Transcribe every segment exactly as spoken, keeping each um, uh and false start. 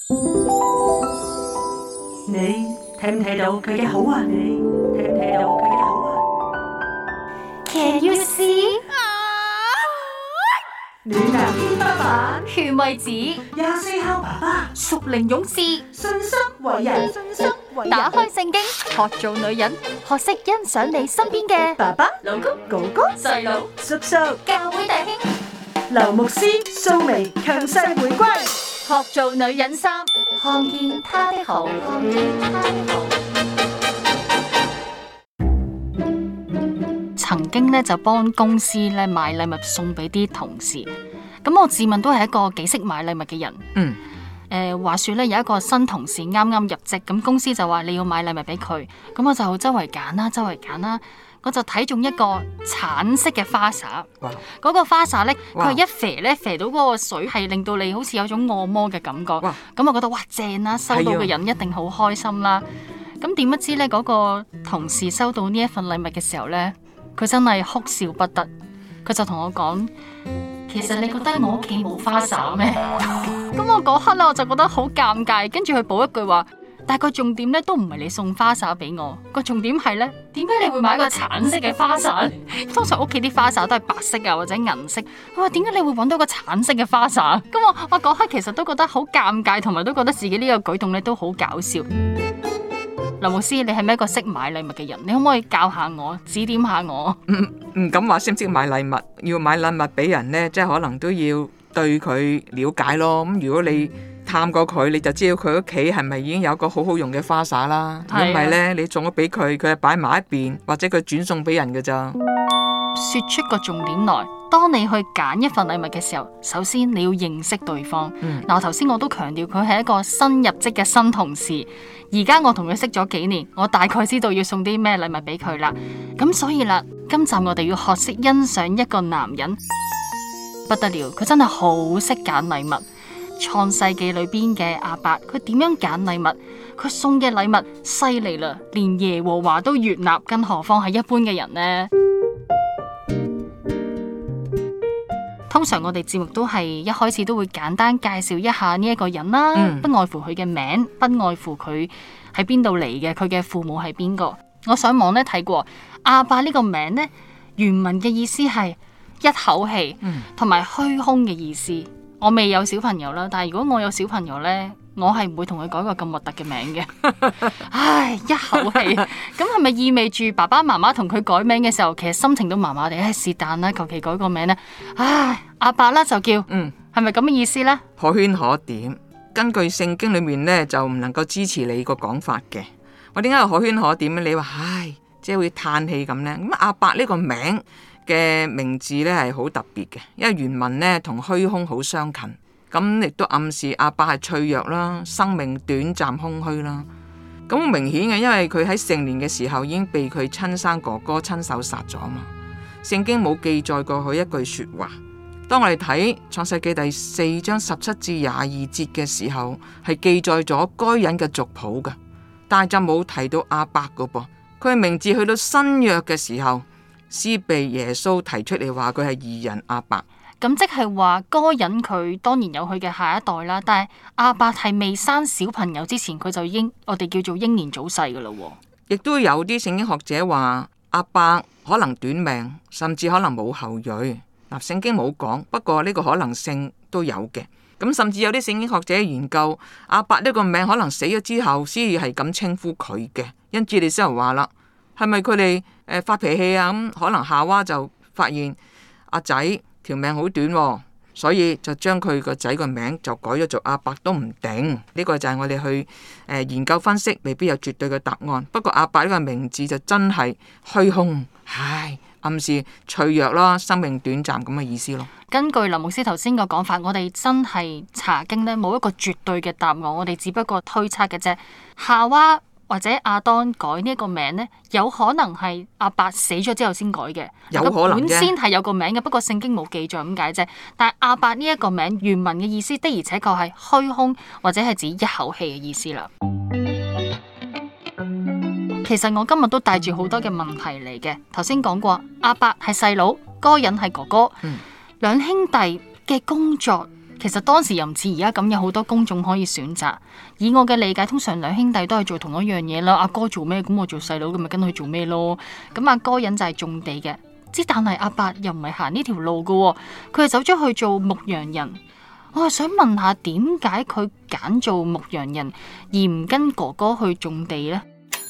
你睇唔睇到佢嘅好啊？你睇唔睇到佢嘅好啊？ Can you see？ 暖男 B 爸爸， 勸慰子， 廿四孝爸爸， 屬靈勇士， 信心為人，信心為人。 打開聖經，學做女人，學識欣賞你身邊嘅爸爸、老公、哥哥、 細佬、 叔叔、 教會弟兄， 劉牧師、蘇眉強勢回歸， 學做女人三，看見他的好，看見他的好。曾經咧就幫公司咧買禮物送俾啲同事，咁我自問都係一個幾識買禮物嘅人。 嗯， 誒、呃、話說咧有一個新同事啱啱入職，咁公司就話你要買禮物俾佢，咁我就周圍揀啦，周圍揀啦，我就睇中一個橙色嘅花灑。 哇！ 嗰個花灑咧，佢哇係一肥咧肥到嗰個水係令到你好似有種按摩嘅感覺。 哇！ 咁我覺得哇正啦，收到嘅人一定好開心啦。咁點不知咧嗰、嗰個同事收到呢一份禮物嘅時候咧，佢真係哭笑不得，佢就同我講：其實你覺得我屋企冇花灑咩？咁我嗰刻咧我就覺得好尷尬，跟住佢補一句話：但係個重點咧都唔係你送花灑俾我，個重點係咧點解你會買個橙色嘅花灑？通常屋企啲花灑都係白色啊或者銀色，佢話點解你會揾到個橙色嘅花灑？咁我我嗰刻其實都覺得好尷尬，同埋都覺得自己呢個舉動咧都好搞笑。劉牧師，你係咪一個識買禮物嘅人？你可唔可以教下我，指點下我？ 唔唔敢話識唔識買禮物，要買禮物俾人呢，即係可能都要對佢了解咯。咁如果你探過佢，你就知道佢屋企係咪已經有個好好用嘅花灑啦。如果唔係呢，你送咗俾佢，佢係擺埋一邊，或者佢轉送俾人㗎咋。 說出個重點來，當你去揀一份禮物嘅時候，首先你要認識對方。嗱、嗯，頭先我都強調佢係一個新入職嘅新同事，而家我同佢識咗幾年，我大概知道要送啲咩禮物俾佢啦。咁所以啦，今集我哋要學識欣賞一個男人，不得了，佢真係好識揀禮物。創世記裏邊嘅亞伯，佢點樣揀禮物？佢送嘅禮物犀利啦，連耶和華都悅納，更何況係一般嘅人呢？通常我哋節目都係一開始都會簡單介紹一下呢一個人啦，嗯、不外乎佢嘅名，不外乎佢喺邊度嚟嘅，佢嘅父母係邊個。我上網咧睇過亞伯呢個名呢，原文嘅意思係一口氣，同埋虛空嘅意思。我未有小朋友啦，但係如果我有小朋友呢，我係唔會同佢改個咁核突嘅名嘅。唉，一口氣，咁係咪意味住爸爸媽媽同佢改名嘅時候，其實心情都麻麻地？唉，是但啦，求其改個名呢。唉，阿伯啦就叫，嗯，係咪咁嘅意思呢？ 可圈可點。根據聖經裏面呢，就唔能夠支持你個講法嘅。我點解可圈可點咧？你話唉，即係會嘆氣咁呢。咁阿伯呢個名嘅名字呢係好特別嘅，因為原文呢同虛空好相近。咁亦都暗示阿伯係脆弱啦，生命短暫空虛啦。咁明顯嘅，因為佢喺成年嘅時候已經被佢親生哥哥親手殺咗嘛。聖經冇記載過佢一句說話。當我哋睇創世記第四章十七至廿二節嘅時候，係記載咗該人嘅族譜嘅，但係就冇提到阿伯噶噃。佢嘅名字去到新約嘅時候，先被耶穌提出嚟話佢係義人阿伯。 咁即係話，該人佢當然有佢嘅下一代啦，但係亞伯係未生小朋友之前，佢就已經我哋叫做英年早逝噶啦。 亦都有啲聖經學者話亞伯可能短命，甚至可能冇後裔。嗱，聖經冇講，不過呢個可能性都有嘅。咁甚至有啲聖經學者研究亞伯呢個名可能死咗之後先係咁稱呼佢嘅。因此你先又話啦，係咪佢哋誒發脾氣啊？咁可能夏娃就發現阿仔條命好短，哦，所以就將佢個仔個名就改咗做阿伯都唔定。呢、這個就係我哋去誒、呃、研究分析，未必有絕對嘅答案。不過阿伯呢個名字就真係虛空，唉，暗示脆弱啦，生命短暫咁嘅意思咯。 根據林牧師頭先個講法，我哋真係查經呢冇一個絕對嘅答案，我哋只不過推測嘅啫。夏娃或者亞當改呢一個名呢，有可能係亞伯死咗之後先改嘅， 有可能啫。本先係有個名嘅，不過聖經冇記載咁解啫。但係亞伯呢一個名原文嘅意思的而且確係虛空或者係指一口氣嘅意思啦。其實我今日都帶住好多嘅問題嚟嘅。頭先講過亞伯係細佬，該隱係哥哥，兩、嗯、兄弟嘅工作其實當時又唔似而家咁有好多工種可以選擇。以我嘅理解，通常兩兄弟都係做同一樣嘢啦。阿哥做咩，咁我做細佬，咁咪跟佢做咩咯。咁阿哥人就係種地嘅，之但係阿伯又唔係行呢條路噶，佢係走咗去做牧羊人。我係想問下，點解佢揀做牧羊人而唔跟哥哥去種地呢？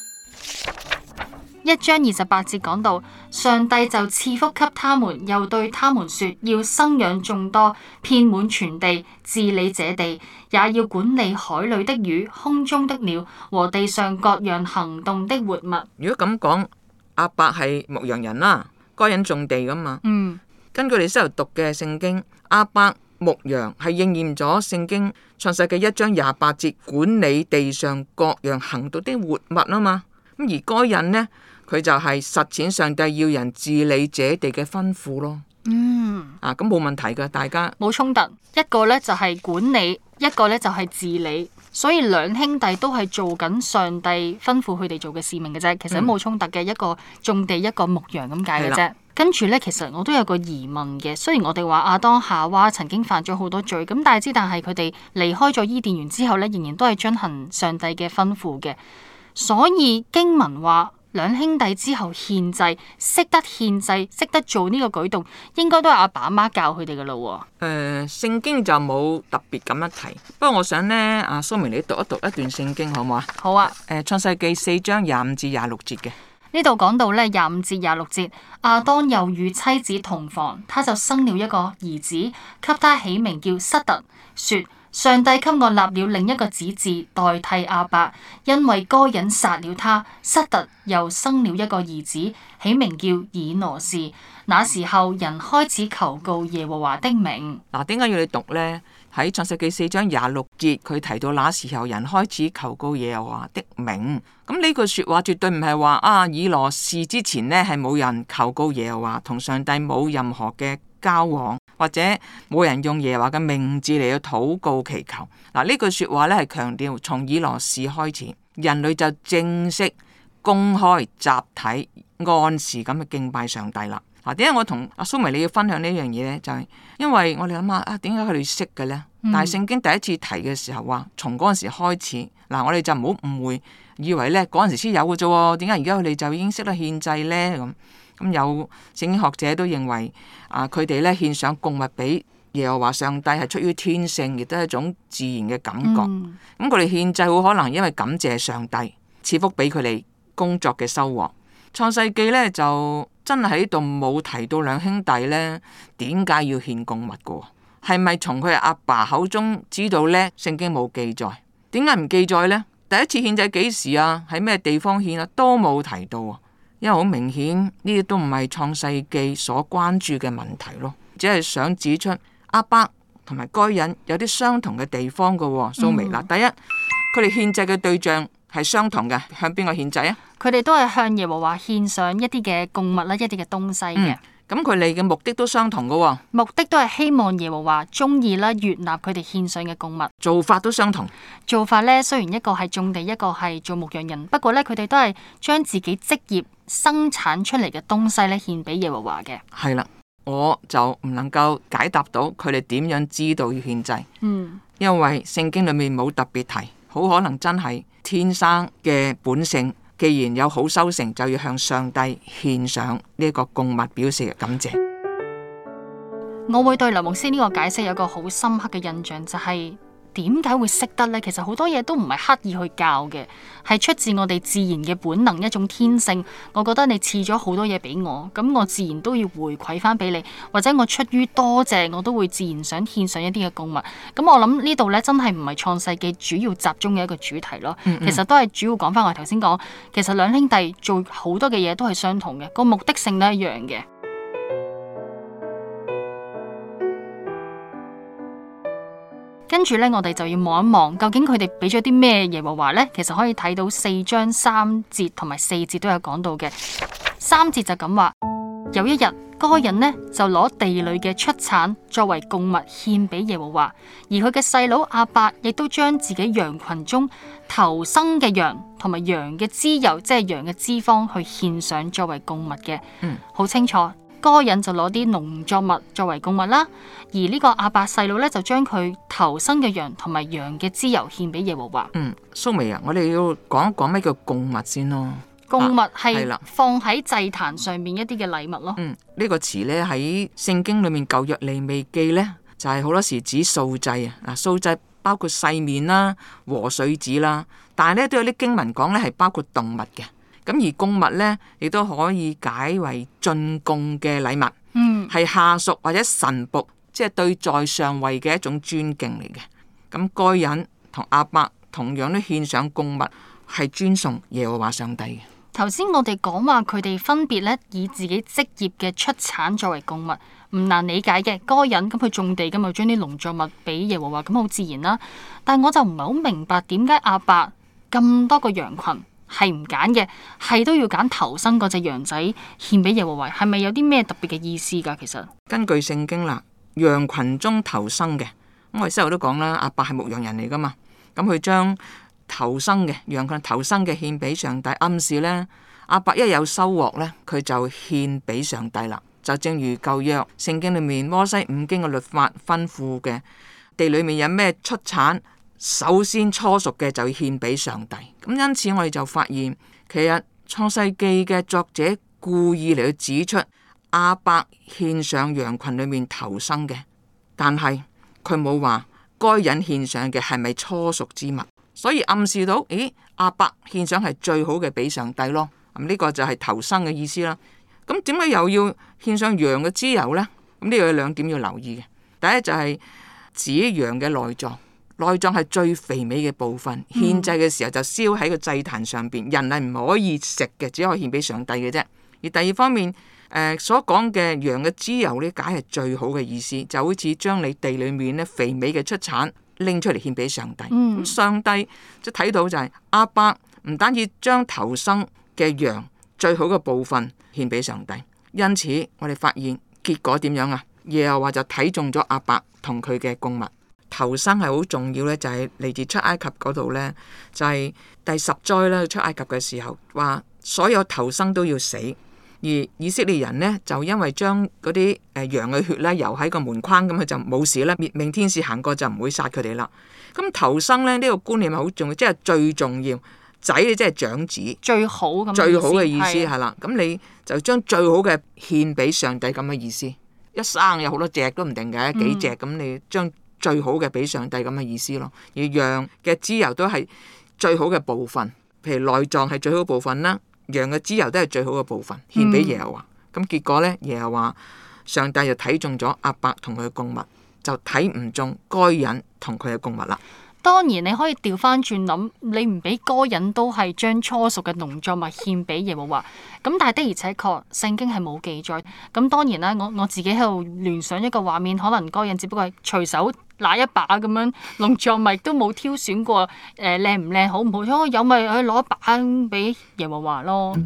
一章二十八節講到，上帝就賜福給他們，又對他們說，要生養眾多，遍滿全地，治理這地，也要管理海裏的魚、空中的鳥和地上各樣行動的活物。 如果咁講，阿伯係牧羊人啦，該人種地噶嘛。 嗯， 根據你先頭讀嘅聖經，阿伯牧羊係應驗咗聖經創世記一章廿八節，管理地上各樣行動的活物啊嘛。咁而該人呢，佢就係實踐上帝要人治理這地嘅吩咐咯。 嗯， 啊，咁冇問題噶，大家冇衝突。一個呢就係管理，一個呢就係治理，所以兩兄弟都係做緊上帝吩咐佢哋做嘅使命嘅啫。其實都冇衝突嘅，一個種地，一個牧羊咁解嘅啫。跟住呢，其實我都有個疑問嘅。雖然我哋話亞當夏娃曾經犯咗好多罪，咁但係之但係佢哋離開咗伊甸園之後呢，仍然都係遵行上帝嘅吩咐嘅。所以經文話兩兄弟之後獻祭，識得獻祭，識得做呢個舉動，應該都係阿爸阿媽教佢哋噶咯。 誒、呃，聖經就冇特別咁樣提。不過我想呢，阿蘇明你讀一讀一段聖經好唔好啊？ 好啊。 誒，創世記四章廿五至廿六節嘅。 呢度講到咧廿五至廿六節，亞當又與妻子同房，他就生了一個兒子，給他起名叫塞特，說：上帝給我立了另一個子嗣代替亞伯，因為該隱殺了他。塞特又生了一個兒子，起名叫以挪士。那時候人開始求告耶和華的名。 嗱，點解要你讀呢？喺創世記四章廿六節，佢提到那時候人開始求告耶和華的名。咁呢句說話絕對唔係話啊，以挪士之前呢係冇人求告耶和華，同上帝冇任何嘅交往，或者冇人用耶和華嘅名字嚟去禱告祈求。嗱，呢句說話呢係強調從以挪士開始，人類就正式公開集體按時咁去敬拜上帝啦。嗱，點解我同阿蘇眉你要分享呢樣嘢呢？就係、是、因為我哋諗下啊，點解佢哋識嘅呢？嗯、但係聖經第一次提嘅時候話，從嗰陣時開始，嗱，我哋就唔好誤會，以為呢嗰陣時先有嘅啫。點解而家佢哋就已經識得獻祭呢？咁咁有聖經學者都認為啊，佢哋呢獻上供物俾耶和華上帝係出於天性，亦都係一種自然嘅感覺。咁佢哋獻祭好可能因為感謝上帝賜福俾佢哋工作嘅收穫。創世記呢就真係喺度冇提到兩兄弟呢點解要獻供物嘅？係咪從佢阿爸口中知道呢？聖經冇記載，點解唔記載呢？第一次獻祭幾時啊？喺咩地方獻啊？都冇提到啊！因為好明顯呢啲都唔係創世記所關注嘅問題咯，只係想指出亞伯同埋該隱有啲相同嘅地方嘅。蘇眉啦，第一，佢哋獻祭嘅對象係相同嘅，向邊個獻祭啊？ 佢哋都係向耶和華獻上一啲嘅供物啦，一啲嘅東西嘅。 咁佢哋嘅目的都相同嘅， 目的都係希望耶和華中意啦，悅納佢哋獻上嘅供物。 做法都相同。 做法呢，雖然一個係種地，一個係做牧羊人，不過呢，佢哋都係將自己職業生產出嚟嘅東西呢獻俾耶和華嘅。 係啦，我就唔能夠解答到佢哋點樣知道要獻祭。 嗯， 因為聖經裏面冇特別提，好可能真係天生嘅本性。既然有好收成，就要向上帝獻上呢一個供物，表示嘅感謝。 我會對劉牧師呢個解釋有個好深刻嘅印象，就係點解會識得呢？其實好多嘢都唔係刻意去教嘅，係出自我哋自然嘅本能，一種天性。我覺得你賜咗好多嘢俾我，咁我自然都要回饋翻俾你，或者我出於多謝，我都會自然想獻上一啲嘅供物。咁我諗呢度呢，真係唔係創世記主要集中嘅一個主題咯。嗯嗯，其實都係主要講翻我頭先講，其實兩兄弟做好多嘅嘢都係相同嘅，個目的性都一樣嘅。跟住呢，我哋就要望一望，究竟佢哋俾咗啲咩耶和華呢？其實可以睇到四章三節同埋四節都有講到嘅。三節就咁話，有一日，該隱呢就攞地裏嘅出產作為供物獻俾耶和華，而佢嘅細佬亞伯亦都將自己羊群中頭生嘅羊同埋羊嘅脂油，即係羊嘅脂肪，去獻上作為供物嘅。嗯，好清楚。 該隱就攞啲農作物作為供物啦，而呢個亞伯細佬咧就將佢頭生嘅羊同埋羊嘅脂油獻俾耶和華。 嗯，蘇眉啊，我哋要講一講咩叫供物先咯。 供物係係啦放喺祭壇上面一啲嘅禮物咯。 嗯，呢、這個詞呢，喺聖經裏面舊約利未記呢，就係、是、好多時指素祭啊。嗱，素祭包括細麵啦、和水子啦，但係呢，都有啲經文講呢係包括動物嘅。咁而供物呢，亦都可以解為進貢嘅禮物， 嗯， 係下屬或者臣僕，即係對在上位嘅一種尊敬嚟嘅。咁該隱同亞伯同樣都獻上供物，係尊崇耶和華上帝嘅。 頭先我哋講話佢哋分別咧以自己職業嘅出產作為供物，唔難理解嘅。該隱咁佢種地咁，就將啲農作物俾耶和華，咁好自然啦。但係我就唔係好明白點解亞伯咁多個羊群係唔揀嘅，係都要揀頭生嗰隻羊仔獻俾耶和華，係咪有啲咩特別嘅意思噶？其實根據聖經啦，羊群中頭生嘅，咁我哋先頭都講啦，亞伯係牧羊人嚟噶嘛，咁佢將頭生嘅羊群頭生嘅獻俾上帝，暗示呢，亞伯一有收穫呢，佢就獻俾上帝啦。就正如舊約聖經裏面摩西五經嘅律法吩咐嘅，地裏面有咩出產，首先初熟嘅就要獻俾上帝。咁因此我哋就發現，其實創世記嘅作者故意嚟去指出亞伯獻上羊群裏面頭生嘅，但係佢冇話該隱獻上嘅係咪初熟之物。所以暗示到，咦，亞伯獻上係最好嘅俾上帝咯。咁呢個就係頭生嘅意思啦。咁點解又要獻上羊嘅脂油呢？咁呢個有兩點要留意嘅。第一就係指羊嘅內臟，內臟係最肥美嘅部分，獻祭嘅時候就燒喺個祭壇上邊，人係唔可以食嘅，只可以獻俾上帝嘅啫。而第二方面，誒、呃、所講嘅羊嘅脂油呢，解係最好嘅意思，就好似將你地裏面呢肥美嘅出產拎出嚟獻俾上帝。咁、嗯、上帝即係睇到就係亞伯唔單止將頭生嘅羊最好嘅部分獻俾上帝，因此我哋發現結果點樣啊？耶和華就睇中咗亞伯同佢嘅供物。頭生係好重要咧，就係嚟自出埃及嗰度呢，就係、是、第十災啦。出埃及嘅時候話所有頭生都要死，而以色列人呢，就因為將嗰啲誒羊嘅血咧游喺個門框，咁佢就冇事啦。滅命天使行過就唔會殺佢哋啦。咁頭生咧呢、呢個觀念係好重要，即係最重要。仔即係長子， 最好咁最好嘅意思係係啦。咁你就將最好嘅獻俾上帝咁嘅意思。一生有好多隻都唔定嘅，幾隻咁、嗯、你將最好嘅俾上帝咁嘅意思咯。而羊嘅脂油都係最好嘅部分，譬如內臟係最好嘅部分啦，羊嘅脂油都係最好嘅部分，獻俾耶和華。咁、嗯、結果呢，耶和華上帝就睇中咗亞伯同佢嘅供物，就睇唔中該隱同佢嘅供物啦。 當然你可以調翻轉諗，你唔俾該隱都係將初熟嘅農作物獻俾耶和華。咁但係的而且確聖經係冇記載。咁當然啦，我我自己喺度聯想一個畫面，可能該隱只不過係隨手拿一把咁樣農作物，都冇挑選過誒靚唔靚好唔好，有有咪去攞一把俾耶和華咯。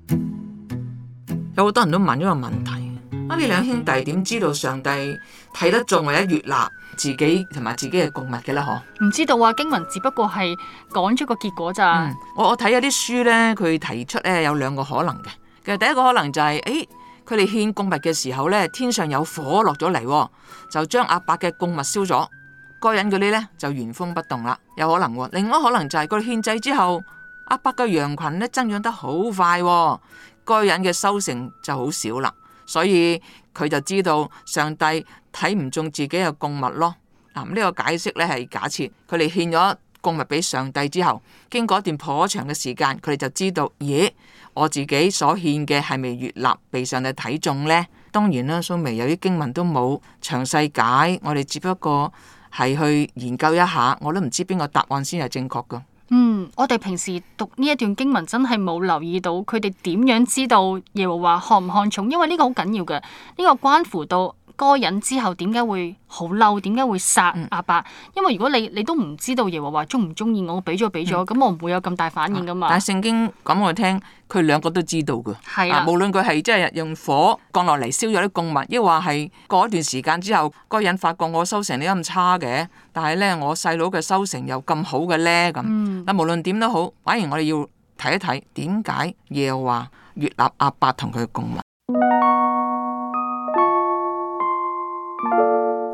有好多人都問一個問題：啊，呢兩兄弟點知道上帝睇得中或者悅納自己同埋自己嘅供物嘅咧？嗬， 唔知道啊，經文只不過係講咗個結果咋、嗯。 我我睇有啲書咧，佢提出咧有兩個可能嘅。其實第一個可能就係、是，誒，佢哋獻供物嘅時候咧，天上有火落咗嚟，就將亞伯嘅供物燒咗，該隱嗰啲咧就原封不動啦，有可能。另外可能就係佢哋獻祭之後，亞伯嘅羊群咧增長得好快，該隱嘅收成就好少啦，所以佢就知道上帝睇唔中自己嘅供物咯。嗱，呢個解釋咧係假設佢哋獻咗供物俾上帝之後，經過一段頗長嘅時間，佢哋就知道，咦，我自己所獻嘅係咪悅納被上帝睇中呢？當然啦，蘇眉有啲經文都冇詳細解，我哋只不過係去研究一下，我都唔知邊個答案先係正確噶。 嗯，我哋平時讀呢一段經文真係冇留意到佢哋點樣知道耶和華看唔看重，因為呢個好緊要嘅，呢、這個關乎到該隱之後點解會好嬲，點解會殺亞伯、嗯？因為如果你你都唔知道耶和華中唔中意我，俾咗俾咗，咁、嗯、我唔會有咁大反應噶嘛。 但係聖經講我聽，佢兩個都知道噶， 係啊， 啊，無論佢係即係用火降落嚟燒咗啲供物，抑或係過一段時間之後，該隱發覺我收成你咁差嘅，但係咧我細佬嘅收成又咁好嘅咧咁。但、嗯、無論點都好，反而我哋要睇一睇點解耶和華悅納亞伯同佢嘅供物。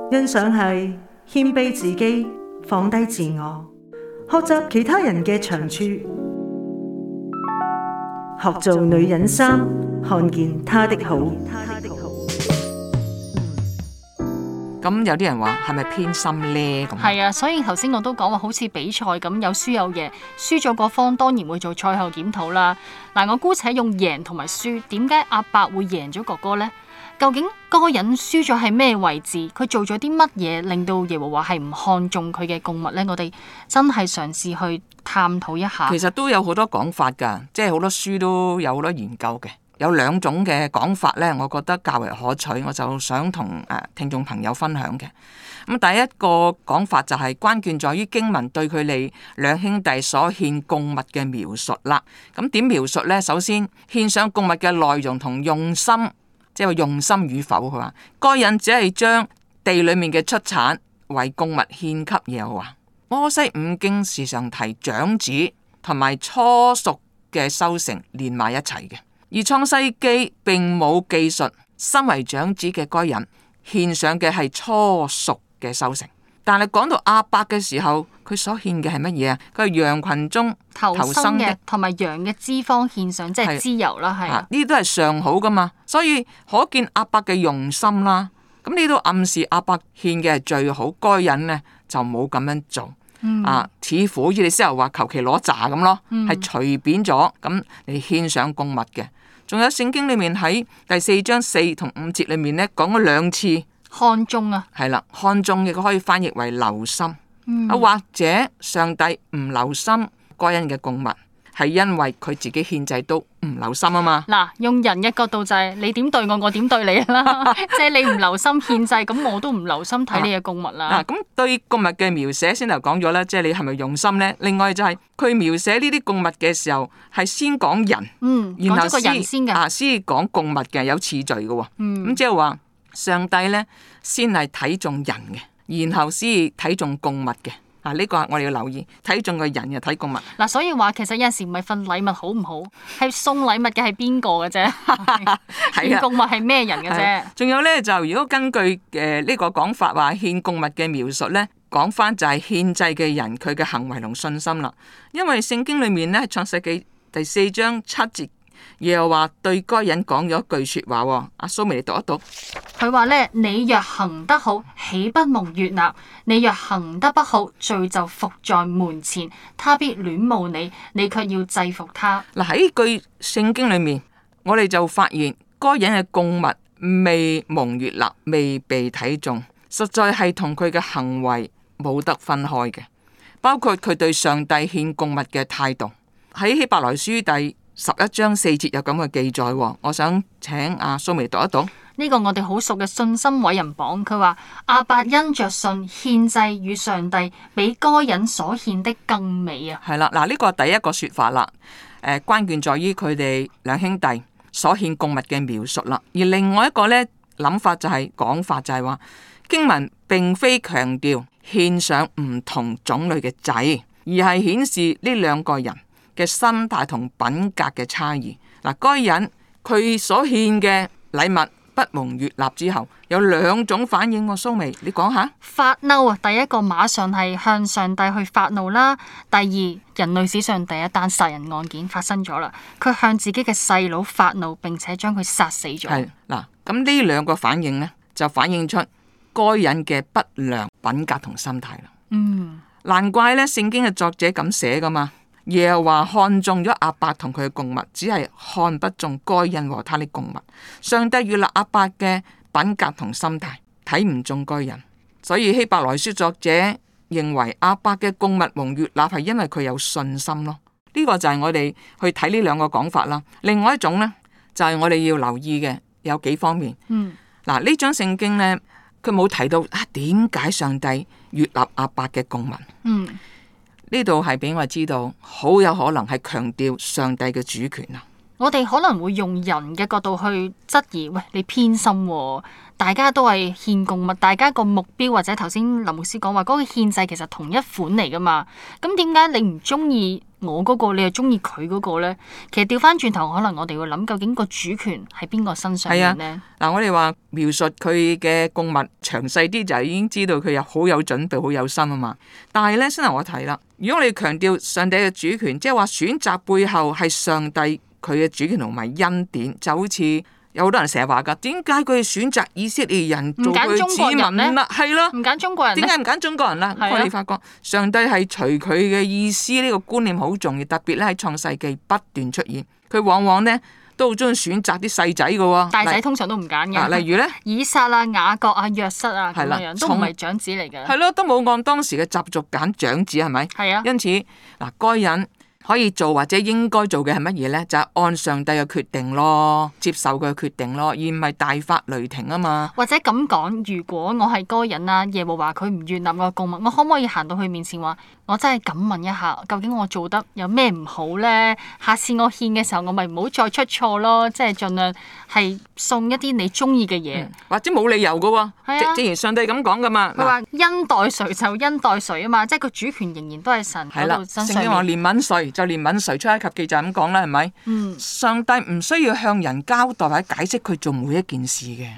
欣賞係謙卑自己，放低自我，學習其他人嘅長處，學做女人三，看見她的好。 咁有啲人話係咪偏心呢？咁係啊，所以頭先我都講話好似比賽咁，有輸有贏，輸咗嗰方當然會做賽後檢討啦。嗱，我姑且用贏同埋輸，點解阿伯會贏咗哥哥呢？究竟嗰個人輸咗係咩位置？佢做咗啲乜嘢令到耶和華係唔看重佢嘅供物呢？我哋真係嘗試去探討一下。 其實都有好多講法㗎，即係好多書都有好多研究嘅。有兩種嘅講法呢，我覺得較為可取，我就想同誒聽眾朋友分享嘅。咁第一個講法就係關鍵在於經文對佢哋兩兄弟所獻供物嘅描述啦。咁點描述呢？首先獻上供物嘅內容同用心，即係話用心與否。佢話該人只係將地裡面嘅出產為供物獻給耶和華。摩西五經時常提長子同埋初熟嘅收成連埋一齊嘅。而創世記並冇記述身為長子嘅該人獻上嘅係初熟嘅收成，但係講到亞伯嘅時候，佢所獻嘅係乜嘢啊？佢係羊群中頭生嘅， 同埋羊嘅脂肪獻上，即係脂油啦，係呢啲都係上好噶嘛，所以可見亞伯嘅用心啦。咁呢都暗示亞伯獻嘅係最好，該人呢就冇咁樣做。嗯、啊，似乎好似你先頭話求其攞渣咁咯，係隨、嗯、便咗咁嚟獻上供物嘅。仲有聖經裏面喺第四章四同五節裏面呢講咗兩次看中啊， 係啦，看中亦可以翻譯為留心。嗯、啊，或者上帝唔留心該人嘅供物，係因為佢自己獻祭都唔留心啊嘛。 嗱，用人嘅角度就係、是、你點對我，我點對你啦。即係你唔留心獻祭，咁我都唔留心睇你嘅供物啦。 嗱、啊，咁、啊、對供物嘅描寫先頭講咗啦，即係你係咪用心呢？另外就係佢描寫呢啲供物嘅時候，係先講人， 嗯， 然後講咗個人先嘅， 啊，先講供物嘅，有次序嘅喎。咁即係話上帝呢，先係睇重人嘅，然後先睇重供物嘅。嗱，呢個我哋要留意，睇中個人又睇供物。 嗱，所以話其實有陣時唔係份禮物好唔好，係送禮物嘅係邊個嘅啫，獻供物係咩人嘅啫。 仲有咧，就如果根據誒呢個講法話獻供物嘅描述咧，講翻就係獻祭嘅人佢嘅行為同信心啦。因為聖經裏面咧創世記第四章七節，耶和華對該人講咗一句說話。阿蘇眉，你讀一讀。 佢話咧：你若行得好，豈不蒙悅納？你若行得不好，罪就伏在門前，他必戀慕你，你卻要制服他。 嗱，喺句聖經裏面，我哋就發現該人嘅供物未蒙悅納，未被睇中，實在係同佢嘅行為冇得分開嘅，包括佢對上帝獻供物嘅態度。喺希伯來書第十一章四節有咁嘅記載，我想請阿蘇眉讀一讀。 呢個我哋好熟嘅信心偉人榜，佢話亞伯因着信獻祭與上帝，比該人所獻的更美啊！ 係啦，嗱，呢個係第一個說法啦。誒，關鍵在於佢哋兩兄弟所獻供物嘅描述啦。而另外一個呢諗法就係、是、講法就係話經文並非強調獻上唔同種類嘅祭，而係顯示呢兩個人嘅心態同品格嘅差異。嗱，該人佢所獻嘅禮物不蒙悅納之後，有兩種反應。蘇眉，你講下。 發嬲啊！第一個馬上係向上帝去發怒啦。第二，人類史上第一單殺人案件發生咗啦，佢向自己嘅細佬發怒，並且將佢殺死咗。 係嗱，咁呢兩個反應呢，就反映出該人嘅不良品格同心態啦。嗯，難怪呢聖經嘅作者咁寫噶嘛。耶和華看中咗亞伯同佢嘅供物，只係看不中該人和他的供物。上帝悅納亞伯嘅品格同心態，睇唔中該人。所以希伯來書作者認為亞伯嘅供物蒙悅納係因為佢有信心咯。呢、這個就係我哋去睇呢兩個講法啦。另外一種呢，就係、是、我哋要留意嘅有幾方面。嗯，嗱，呢章聖經呢，佢冇提到啊點解上帝悅納亞伯嘅供物。嗯。呢度係俾我知道，好有可能係強調上帝嘅主權啊！ 我哋可能會用人嘅角度去質疑，喂，你偏心喎，大家都係獻供物，大家個目標或者頭先林牧師講話嗰個獻祭其實同一款嚟噶嘛？咁點解你唔中意我嗰個，你又中意佢嗰個咧？其實調翻轉頭，可能我哋會諗，究竟個主權喺邊個身上面咧？ 嗱、啊，我哋話描述佢嘅供物詳細啲，就已經知道佢有好有準備、好有心啊嘛。但係咧，先頭我提啦，如果你強調上帝嘅主權，即係話選擇背後係上帝佢嘅主權同埋恩典，就好似有好多人成日話噶，點解佢選擇以色列人做佢子民啦？係咯， 唔揀中國人，點解唔揀中國人啦？我哋發覺上帝係隨佢嘅意思，呢、這個觀念好重要，特別咧喺創世記不斷出現，佢往往呢都好中意選擇啲細仔噶， 大仔通常都唔揀嘅。例如咧， 以撒啊、雅各啊、約瑟啊咁樣，都唔係長子嚟嘅。 係咯，都冇按當時嘅習俗揀長子，係咪？ 係啊。 因此嗱，該人可以做或者應該做嘅係乜嘢呢？就係、是、按上帝嘅決定咯，接受佢嘅決定咯，而唔係大發雷霆啊嘛。 或者咁講，如果我係該人啊，耶和華佢唔悅納我供物，我可唔可以行到佢面前話，我真係敢問一下，究竟我做得有咩唔好呢？下次我獻嘅時候，我咪唔好再出錯咯，即係盡量係送一啲你中意嘅嘢， 嗯、或者冇理由噶、啊。係啊，正如上帝咁講噶嘛。 佢話恩待誰就恩待誰啊嘛，即係個主權仍然都係神喺度身上面。聖經話憐憫誰就憐憫誰，出埃及記就咁講啦，係咪？ 嗯， 上帝唔需要向人交代或者解釋佢做每一件事嘅。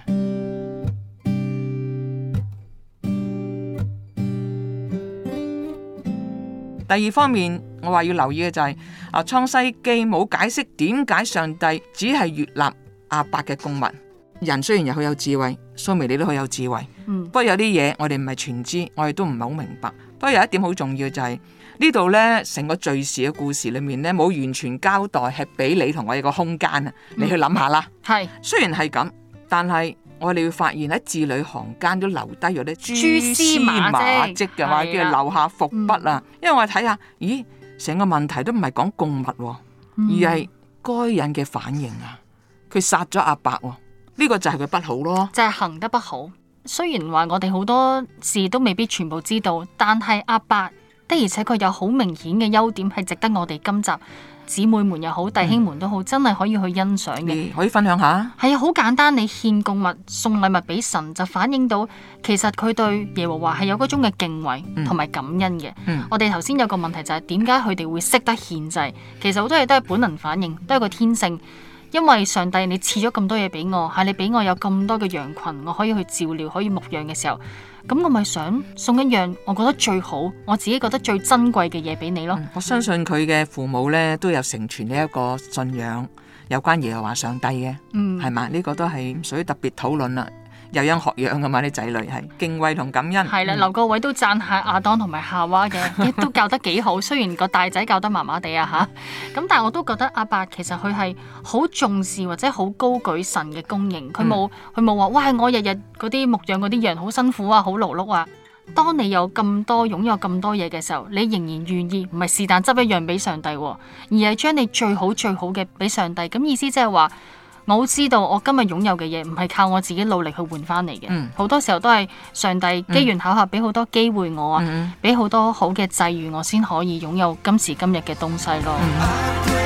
第二方面，我話要留意嘅就係、是、啊，創世記冇解釋點解上帝只係悅納亞伯嘅供物。人雖然又好有智慧，蘇眉你都好有智慧， 嗯、 不過有啲嘢我哋唔係全知，我哋都唔係好明白。不過有一點好重要就係、是、呢度呢，成個敘事嘅故事裏面呢，冇完全交代，係俾你同我一個空間啊，你去諗下啦。 係、嗯， 雖然係咁，但係我哋會發現喺字裏行間都留低咗啲蛛絲馬跡嘅話，叫做留下伏筆啊。嗯、因為我哋睇下，咦，成個問題都唔係講供物，而係該隱嘅反應啊。佢殺咗亞伯，呢、這個就係佢不好咯， 就係行得不好。雖然話我哋好多事都未必全部知道，但係亞伯的而且確有好明顯嘅優點，係值得我哋今集姊妹們又好，弟兄們都好，嗯、真係可以去欣賞嘅。 可以分享下。 係啊，好簡單，你獻供物、送禮物俾神，就反映到其實佢對耶和華係有嗰種嘅敬畏同埋感恩嘅。 嗯、 我哋頭先有個問題就係點解佢哋會識得獻祭？其實好多嘢都係本能反應，都係個天性。因為上帝你賜咗咁多嘢俾我，係你俾我有咁多嘅羊群，我可以去照料，可以牧養嘅時候，咁我咪想送一樣我覺得最好，我自己覺得最珍貴嘅嘢俾你咯。 嗯、我相信佢嘅父母呢都有承傳呢一個信仰，有關耶和華上帝嘅，係嘛、嗯？呢、這個都係唔屬於特別討論啦。有樣學樣噶嘛，啲仔女係敬畏同感恩。 係啦，劉國偉都讚下亞當同埋夏娃嘅，都教得幾好。雖然個大仔教得麻麻地啊吓，咁但係我都覺得亞伯其實佢係好重視或者好高舉神嘅供應。佢冇佢冇話，哇！我日日嗰啲牧養嗰啲羊好辛苦啊，好勞碌啊。當你有咁多擁有咁多嘢嘅時候，你仍然願意唔係是但執一樣俾上帝，而係將你最好最好嘅俾上帝。咁意思即係話。我知道我今日擁有嘅嘢唔係靠我自己努力去換翻嚟嘅，好、嗯、多時候都係上帝機緣巧合俾好多機會我啊，俾好、嗯、多好嘅際遇我先可以擁有今時今日嘅東西咯。嗯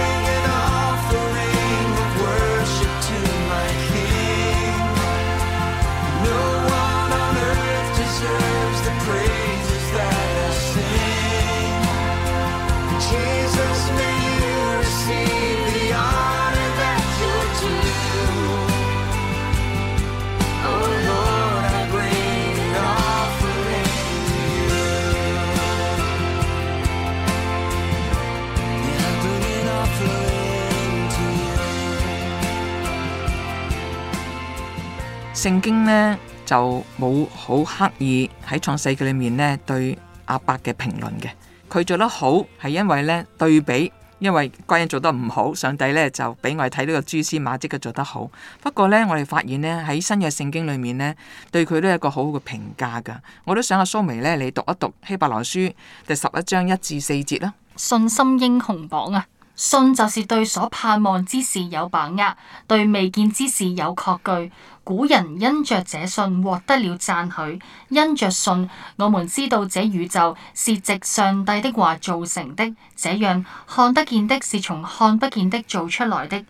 聖經呢就冇好刻意喺創世記裏面呢對亞伯嘅評論嘅，佢做得好係因為呢對比，因為該人做得唔好，上帝呢就俾我哋睇到個蛛絲馬跡嘅做得好。不過呢，我哋發現呢喺新約聖經裏面呢，對佢都有一個好好嘅評價噶。我都想阿蘇眉呢，你讀一讀希伯來書第十一章一至四節啦。 信心英雄榜啊！信就是對所盼望之事有把握，對未見之事有確據。古人因着這信獲得了讚許，因着信，我們知道這宇宙是藉上帝的話造成的。這樣看得見的是從看不見的造出來的，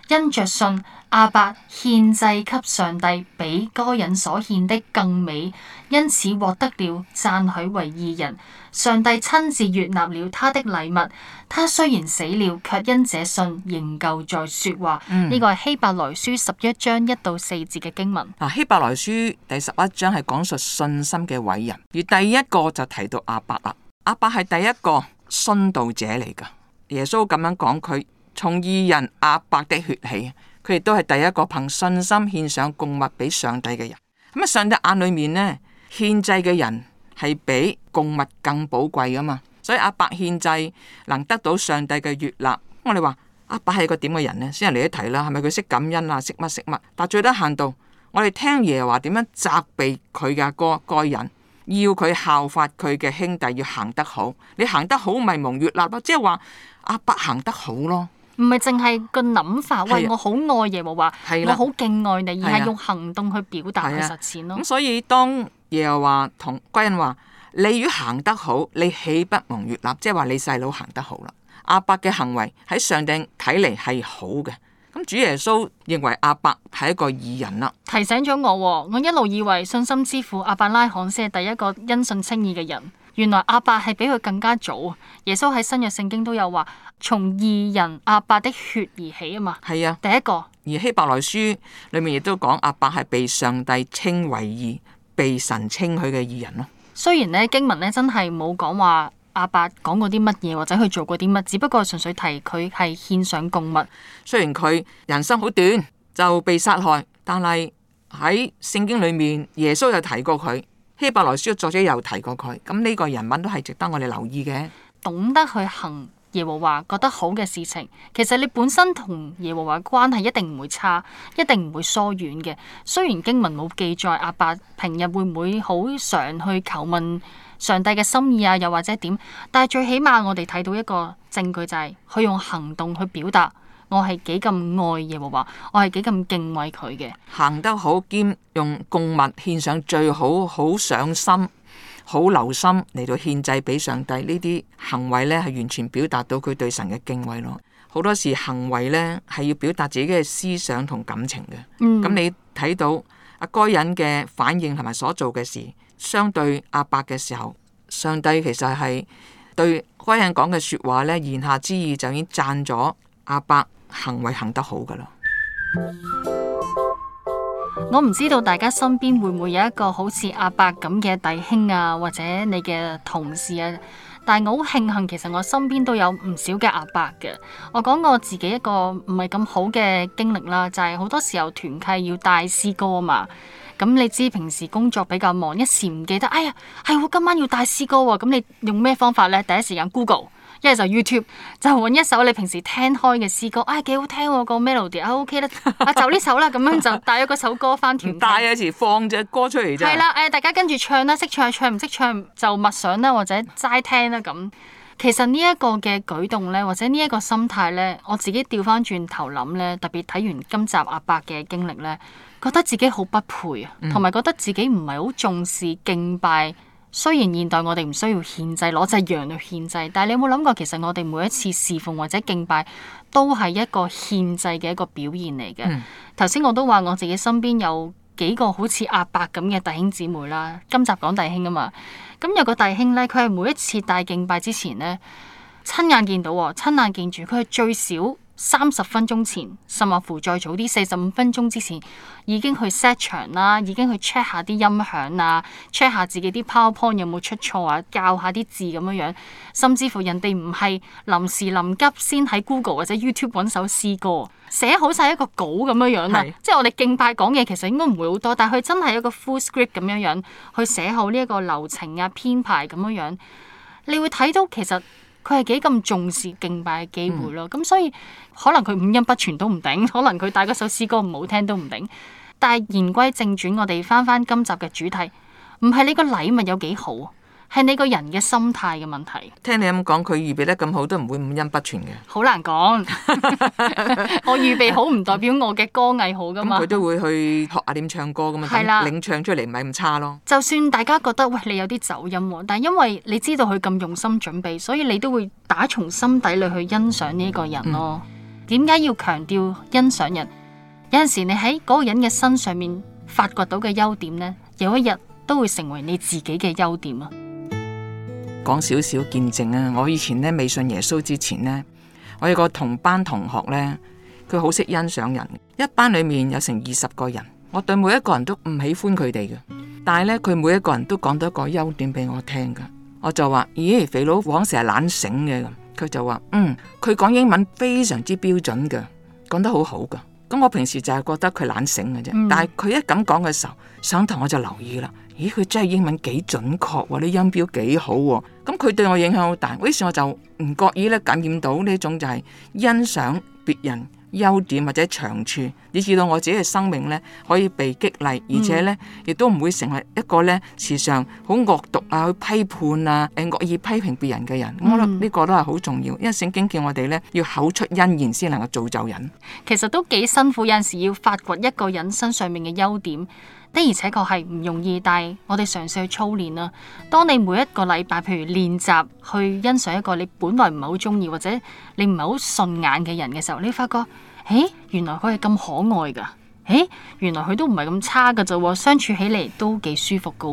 因着信，亞伯獻祭給上帝，比該隱所獻的更美，因此獲得了讚許為義人。上帝親自悅納了他的禮物。他雖然死了，卻因這信仍舊在說話。呢、嗯、個係希伯來書十一章一到四節嘅經文。 嗱，希伯來書第十一章係講述信心嘅偉人，而第一個就提到亞伯啦。亞伯係第一個殉道者嚟噶。耶穌咁樣講，佢從義人亞伯的血起，佢亦都係第一個憑信心獻上供物俾上帝嘅人。咁啊，上帝眼裏面呢，獻祭嘅人係比供物更寶貴噶嘛，所以亞伯獻祭能得到上帝嘅悅納。我哋話亞伯係個點嘅人呢？先人嚟一提啦，係咪佢識感恩啊？識乜識乜？但最低限度，我哋聽耶和華點樣責備佢嘅哥該人，要佢效法佢嘅兄弟，要行得好。你行得好，咪蒙悅納咯。即係話亞伯行得好咯， 唔係淨係個諗法。喂，我好愛耶和華，我好敬愛你，而係用行動去表達去實踐咯。咁所以當耶和華同該人話，你如行得好，你豈不蒙悅納？即係話你細佬行得好啦。亞伯嘅行為喺上帝睇嚟係好嘅。咁主耶穌認為亞伯係一個義人啦。 提醒咗我，我一路以為信心之父亞伯拉罕先係第一個因信稱義嘅人，原來亞伯係比佢更加早。耶穌喺新約聖經都有話，從義人亞伯的血而起啊嘛。係啊，第一個。 而希伯來書裏面亦都講亞伯係被上帝稱為義，被神稱許嘅義人咯。 雖然呢經文呢真係冇講話亞伯講過啲乜嘢，或者佢做過啲乜，只不過純粹提佢係獻上供物。 雖然佢人生好短就被殺害，但係喺聖經裏面耶穌有提過佢，希伯來書作者又提過佢，咁呢個人物都係值得我哋留意嘅。 懂得去行耶和華覺得好嘅事情，其實你本身同耶和華關係一定唔會差，一定唔會疏遠嘅。雖然經文冇記載亞伯平日會唔會好常去求問上帝嘅心意啊，又或者點，但係最起碼我哋睇到一個證據，就係佢用行動去表達我係幾咁愛耶和華，我係幾咁敬畏佢嘅。 行得好兼用供物獻上最好，好上心，好留心嚟到獻祭俾上帝，呢啲行為呢係完全表達到佢對神嘅敬畏咯。好多時行為呢係要表達自己嘅思想同感情嘅。咁、嗯、你睇到阿該隱嘅反應同埋所做嘅事，相對亞伯嘅時候，上帝其實係對該隱講嘅說話呢，言下之意就已經讚咗亞伯行為行得好噶啦。 我唔知道大家身邊會唔會有一個好似亞伯咁嘅弟兄啊，或者你嘅同事啊，但係我好慶幸，其實我身邊都有唔少嘅亞伯嘅。我講我自己一個唔係咁好嘅經歷啦，就係、是、好多時候團契要帶詩歌啊嘛。咁你知平時工作比較忙，一時唔記得，哎呀，係我今晚要帶詩歌喎。咁你用咩方法呢？第一時間 Google。一係就 YouTube 就揾一首你平時聽開嘅詩歌，唉、哎、幾好聽喎、個 melody 啊 OK 啦，啊就呢首啦，咁樣就帶咗嗰首歌翻團。 帶有時放隻歌出嚟啫。係啦，誒大家跟住唱啦，識唱唱唔識唱就默想啦，或者齋聽啦咁。其實呢一個嘅舉動咧，或者呢一個心態咧，我自己調翻轉頭諗咧，特別睇完今集亞伯嘅經歷咧，覺得自己好不配啊，同埋覺得自己唔係好重視敬拜。雖然現代我哋唔需要獻祭，攞隻羊去獻祭，但係你有冇諗過，其實我哋每一次侍奉或者敬拜，都係一個獻祭嘅一個表現嚟嘅。頭先、嗯、我都話我自己身邊有幾個好似亞伯咁嘅弟兄姊妹啦。今集講弟兄啊嘛，咁有個弟兄呢，佢係每一次帶敬拜之前呢，親眼見到，親眼見住，佢係最少三十分鐘前，甚或乎再早啲四十五分鐘之前，已經去 set 場啦，已經去 check 下啲音響啊 check 下自己啲 PowerPoint 有冇出錯啊，校下啲字咁樣樣，甚至乎人哋唔係臨時臨急先喺 Google 或者 YouTube 揾首詩歌，寫好晒一個稿咁樣樣啦。是即係我哋敬拜講嘢其實應該唔會好多，但係佢真係一個 full script 咁樣樣去寫好呢一個流程啊編排咁樣樣，你會睇到其實佢係幾咁重視敬拜嘅機會咯，咁、嗯、所以可能佢五音不全都唔頂，可能佢帶嗰首詩歌唔好聽都唔頂。但係言歸正傳，我哋翻翻今集嘅主題，唔係你個禮物有幾好，係你個人嘅心態嘅問題。聽你咁講，佢預備得咁好，都唔會五音不全嘅。 好難講，我預備好唔代表我嘅歌藝好噶嘛。 佢都會去學下點唱歌噶嘛，係啦，領唱出嚟唔係咁差咯。 就算大家覺得喂你有啲走音，但係因為你知道佢咁用心準備，所以你都會打從心底裏去欣賞呢一個人咯。嗯點解要強調欣賞人？有陣時你喺嗰個人嘅身上面發掘到嘅優點呢，有一日都會成為你自己嘅優點啊！ 講少少見證啊！我以前呢未信耶穌之前呢，我有個同班同學呢，佢好識欣賞人。一班裏面有成二十個人，我對每一個人都唔喜歡佢哋嘅，但係呢，佢每一個人都講到一個優點俾我聽噶。我就話：咦，肥佬往成日懶醒嘅咁。佢就話：嗯，佢講英文非常之標準嘅，講得好好噶。咁我平時就係覺得佢懶醒嘅啫，嗯、但係佢一咁講嘅時候，上堂我就留意啦。咦，佢真係英文幾準確喎，啲音標幾好喎。咁佢對我影響好大，於是我就唔覺意咧感染到呢種就係欣賞別人優點或者長處，以至到我自己嘅生命呢可以被激勵，而且呢亦都唔會成為一個呢時常好惡毒啊、去批判啊、誒惡意批評別人嘅人。嗯、我覺得呢個都係好重要，因為聖經叫我哋呢要口出恩言先能夠造就人。 其實都幾辛苦，有陣時要發掘一個人身上面嘅優點，的而且確係唔容易，但係我哋嘗試去操練啦。當你每一個禮拜，譬如練習去欣賞一個你本來唔係好中意或者你唔係好順眼嘅人嘅時候，你發覺，誒，原來佢係咁可愛噶，誒，原來佢都唔係咁差噶啫，相處起嚟都幾舒服噶。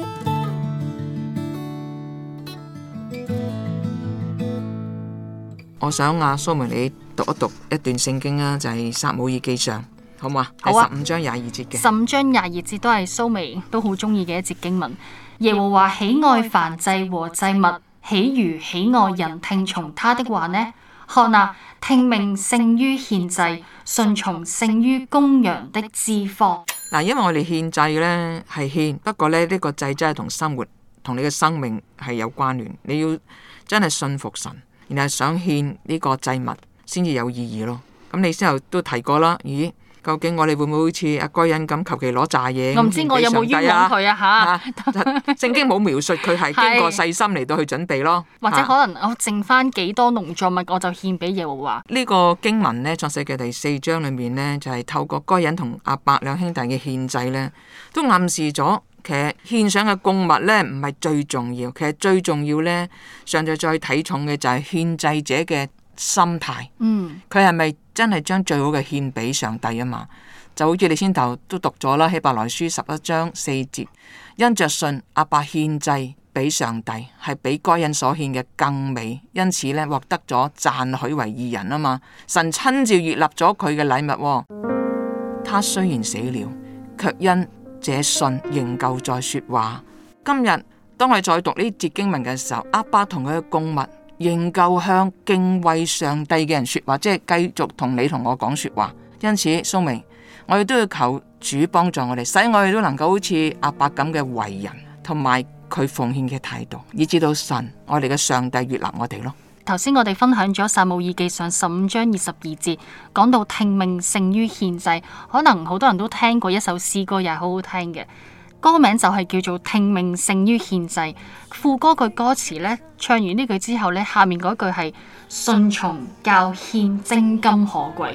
我想阿蘇梅你讀一讀一段聖經啊，就係撒母耳記上。好嘛？ 好啊， 十五章廿二節嘅。 十五章廿二節都係蘇眉都好中意嘅一節經文。耶和華喜愛燔祭和祭物，豈如喜愛人聽從他的話呢？看啊，聽命勝於獻祭，順從勝於公羊的脂肪。 嗱，因為我哋獻祭呢係獻，不過咧呢、呢個祭真係同生活同你嘅生命係有關聯。你要真係信服神，然後想獻呢個祭物先至有意義咯。咁你之後都提過啦，咦？究竟我哋會唔會好似阿該隱咁求其攞炸嘢？ 我唔知我有冇冤枉佢啊吓！ 聖經冇描述佢係經過細心嚟到去準備咯， 或者可能我剩翻幾多農作物，我就獻俾耶和華。 呢個經文呢，創世記第四章裏面呢，就係、是、透過該隱同亞伯兩兄弟嘅獻祭呢，都暗示咗其實獻上嘅供物呢唔係最重要，其實最重要呢，上帝再睇重嘅就係獻祭者嘅心態。嗯，佢係咪真係將最好嘅獻俾上帝啊嘛？就好似你先頭都讀咗啦，希伯來書十一章四節，因着信亞伯獻祭俾上帝，係比該隱所獻嘅更美，因此呢，獲得咗讚許為義人啊嘛。神親自悅納咗佢嘅禮物，他雖然死了，卻因這信仍舊在說話。今日當我哋再讀呢節經文嘅時候，亞伯同佢嘅供物仍舊向敬畏上帝嘅人說話，即係繼續同你同我講說話。因此，蘇明，我哋都要求主幫助我哋，使我哋都能夠好似亞伯咁嘅為人，同埋佢奉獻嘅態度，以至到神，我哋嘅上帝悅納我哋咯。 頭先我哋分享咗撒母耳記上十五章二十二節，講到聽命勝於獻祭，可能好多人都聽過一首詩歌，又係好好聽嘅。歌名就係叫做聽命勝於獻祭，副歌句歌詞呢，唱完呢句之後呢，下面嗰句係順從較獻精金可貴。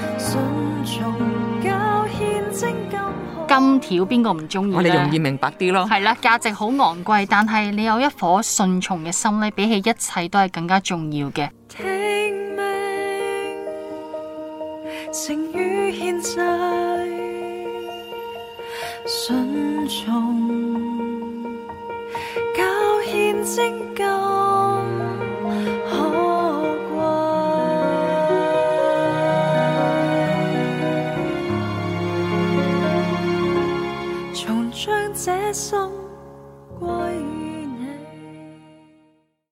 金條邊個唔中意？ 我哋容易明白啲咯。 係啦，價值好昂貴，但係你有一顆順從嘅心呢，比起一切都係更加重要嘅。 聽命勝於獻祭，順從較獻精金。